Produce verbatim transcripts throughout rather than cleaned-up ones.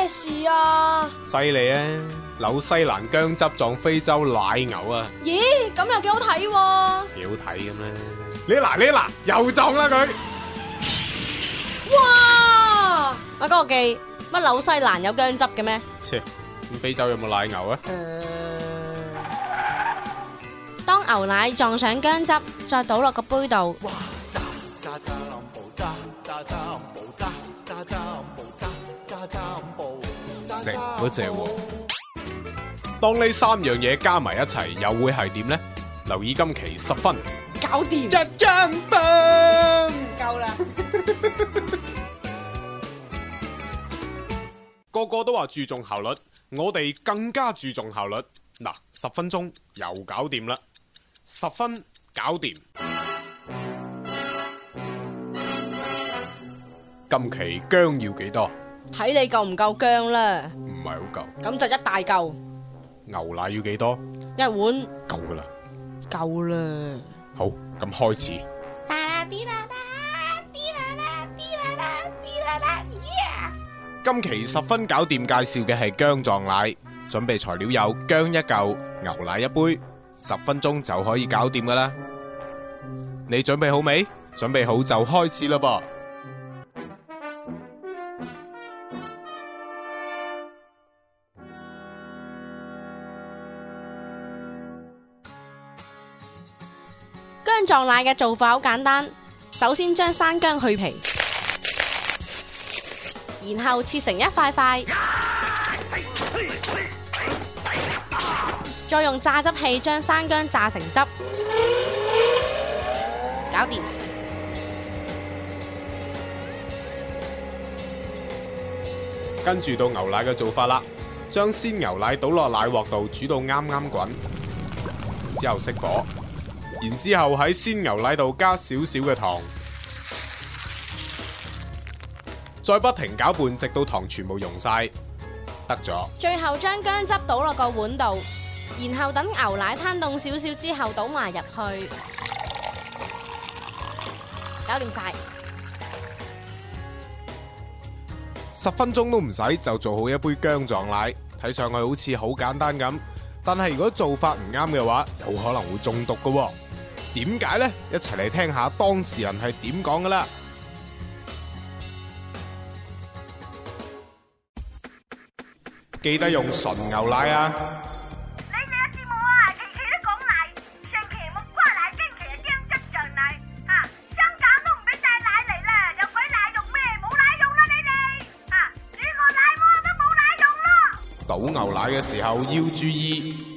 事啊？ 犀利啊！紐西蘭薑汁撞非洲奶牛啊！ 咦，咁又幾好睇喎？ 幾好睇咁咧？你嗱你嗱又撞啦佢！ 哇！阿哥記，乜紐西蘭有薑汁嘅咩？ 切，咁非洲有冇奶牛啊？ 誒，當牛奶撞上薑汁，再倒落個杯度。 食嗰隻喎。當呢三樣嘢加埋一齊，又會係點呢？留意今期十分， 搞掂。 一張棒夠啦。 個個都話注重效率，我哋更加注重效率。嗱，十分鐘又搞掂啦，十分搞掂。今期薑要幾多？ 睇你夠唔夠薑啦。 唔係好夠。 咁就一大嚿。 牛奶要幾多？ 一碗。 夠噶啦。 夠啦。 好，咁開始。今期十分搞掂，介紹嘅係薑撞奶。準備材料有薑一嚿、牛奶一杯，十分鐘就可以搞掂噶啦。你準備好未？準備好就開始啦噃。 薑撞奶嘅做法好簡單，首先將生薑去皮，然後切成一塊塊，再用榨汁器將生薑榨成汁，搞掂。 跟住到牛奶嘅做法啦，將鮮牛奶倒落奶鑊度煮到啱啱滾，之後熄火。然之後喺鮮牛奶度加少少嘅糖，再不停攪拌，直到糖全部溶晒，得咗。 最後將薑汁倒落個碗度，然後等牛奶攤凍少少之後倒埋入去，搞掂晒。 十分鐘都唔使就做好一杯薑撞奶，睇上去好似好簡單咁，但係如果做法唔啱嘅話，有可能會中毒㗎喎。點解呢？一齊嚟聽下當事人係點講噶啦！記得用純牛奶啊！ 你哋嘅節目啊，期期都講奶，上期木瓜奶，今期係薑汁撞奶，啊，香港都唔俾帶奶嚟啦，有鬼奶用咩？冇奶用啦你哋，啊，煮個奶鍋都冇奶用咯。 倒牛奶嘅時候要注意。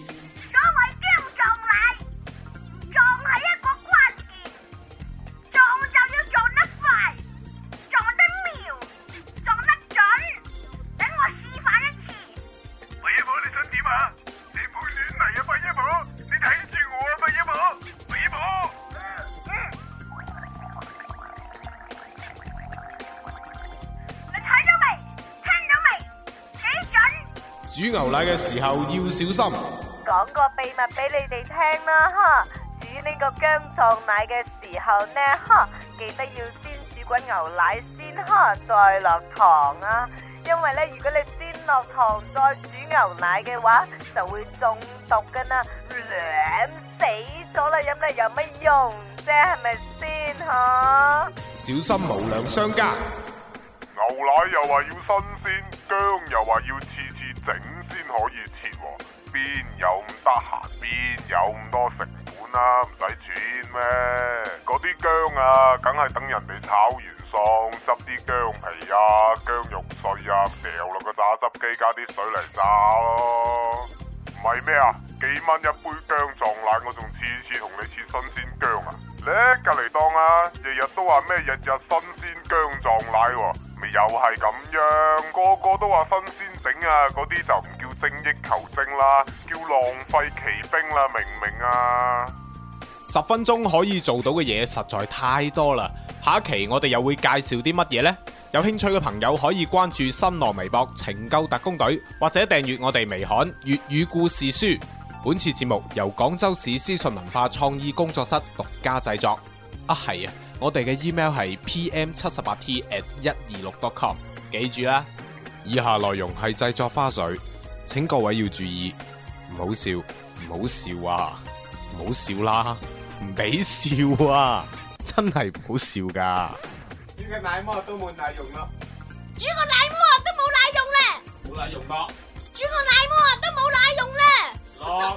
煮牛奶嘅時候要小心。 講個秘密俾你哋聽啦，哈！煮呢個薑撞奶嘅時候呢，哈，記得要先煮滾牛奶先，哈，再落糖啊！因為咧，如果你先落糖再煮牛奶嘅話，就會中毒噶啦，涼死咗啦，飲嚟有乜用啫？係咪先吓？ 小心無良商家。 牛奶又話要新鮮，薑又話要次次整先可以切，邊有咁得閒？邊有咁多成本啊？唔使錢咩？嗰啲薑啊，梗係等人哋炒完餸，執啲薑皮啊、薑肉碎啊，掉落個榨汁機，加啲水嚟榨咯。唔係咩啊？幾蚊一杯薑撞奶，我仲次次同你切新鮮薑啊！咧隔籬檔啊，日日都話咩日日新鮮薑撞奶喎，咪又係咁樣，個個都話新鮮整啊，嗰啲就唔叫精益求精啦，叫浪費奇兵啦，明唔明啊？ 十分鐘可以做到嘅嘢實在太多啦，下一期我哋又會介紹啲乜嘢呢？有興趣嘅朋友可以關注新浪微博情救特工隊，或者訂閱我哋微刊粵語故事書。本次節目由廣州市思信文化創意工作室獨家製作。啊係啊，我哋嘅 email 係 p m 七十八 t at 一二六 dot com， 記住啦。 以下內容係製作花絮，請各位要注意，唔好笑，唔好笑啊，唔好笑啦，唔俾笑啊，真係唔好笑噶。呢個奶膜都冇奶用啦， 煮個奶膜都冇奶用咧， 冇奶用咯， 煮個奶膜都冇奶用咧。 落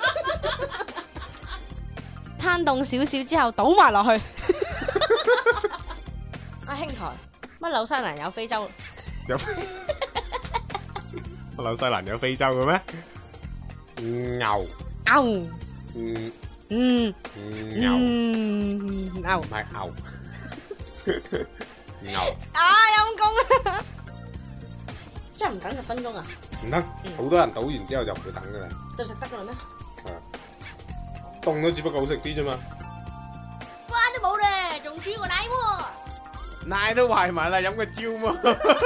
攤凍少少之後倒埋落去。阿兄台，乜紐西蘭有非洲？ 有紐西蘭有非洲嘅咩？牛牛， 嗯嗯牛嗯牛唔，係牛牛啊陰公啊！真係唔等十分鐘啊？ 唔得，好多人倒完之後就唔會等噶啦， 就食得噶啦咩？ 凍咗只不過好食啲啫嘛。 關都冇咧，仲煮個奶喎。 奶都壞埋啦，飲個蕉嘛。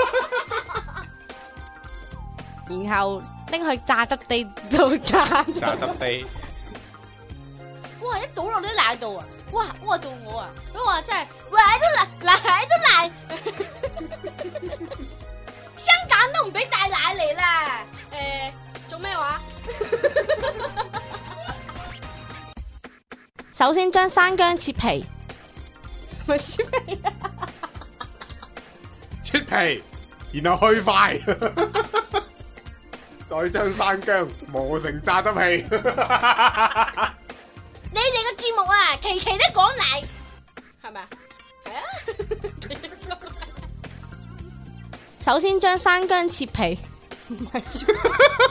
然後拎去炸得地度炸。 炸汁地， 哇！一倒落啲奶度啊！哇！屙到我啊！咁我真係奶都奶，奶都奶。香港都唔俾帶奶嚟啦。誒，做咩話？首先將生薑切皮，咪切皮啊！ 切皮，然後去塊，再將生薑磨成榨汁皮。 你哋個節目啊，期期都講奶，係咪啊？係啊。首先將生薑切皮，唔係切皮。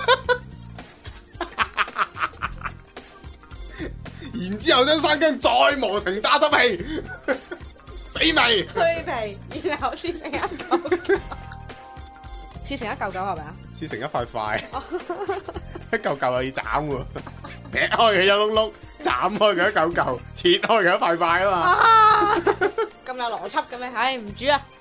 然之後將生薑再磨成榨汁皮，死味。 去皮，然後切成一嚿嚿，切成一嚿嚿係咪啊？ 切成一塊塊，一嚿嚿又要斬喎，劈開佢一碌碌，斬開佢一嚿嚿，切開佢一塊塊啊嘛。 啊，咁有邏輯嘅咩？唉，唔煮啊！